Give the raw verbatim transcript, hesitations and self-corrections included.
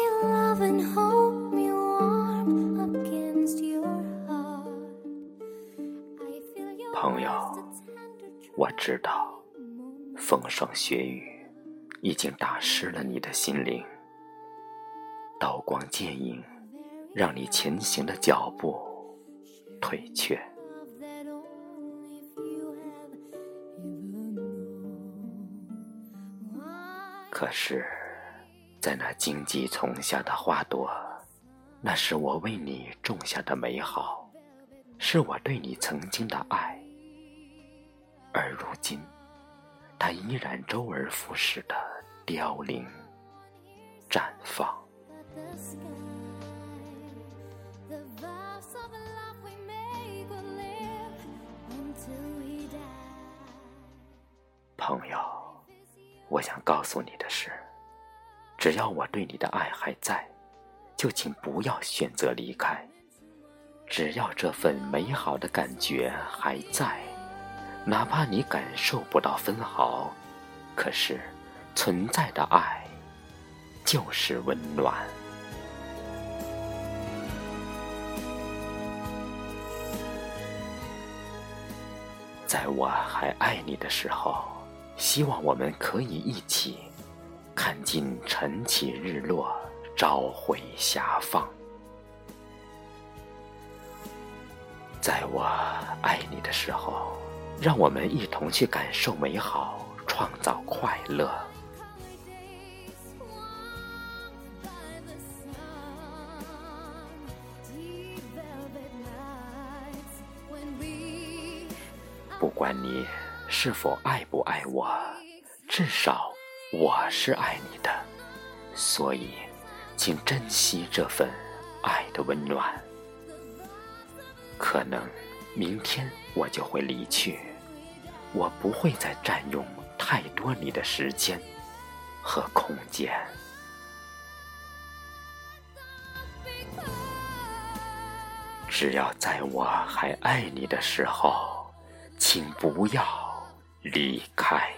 love and hold me warm against your heart. I feel your 朋友， voice the tender 我知道风霜雪雨已经打湿了你的心灵，刀光剑影让你前行的脚步退却。 love that only few have ever known. Why 可是在那荆棘丛下的花朵，那是我为你种下的美好，是我对你曾经的爱，而如今它依然周而复始的凋零绽放。 but the sky, the vows of love we make will live until we die. 朋友，我想告诉你的是，只要我对你的爱还在，就请不要选择离开。只要这份美好的感觉还在，哪怕你感受不到分毫，可是存在的爱就是温暖。在我还爱你的时候，希望我们可以一起看尽晨起日落，朝晖霞放。在我爱你的时候，让我们一同去感受美好，创造快乐。 Days warmed by the sun, deep velvet nights when we 不管你是否爱不爱我，至少我是爱你的，所以请珍惜这份爱的温暖。可能明天我就会离去，我不会再占用太多你的时间和空间。只要在我还爱你的时候，请不要离开。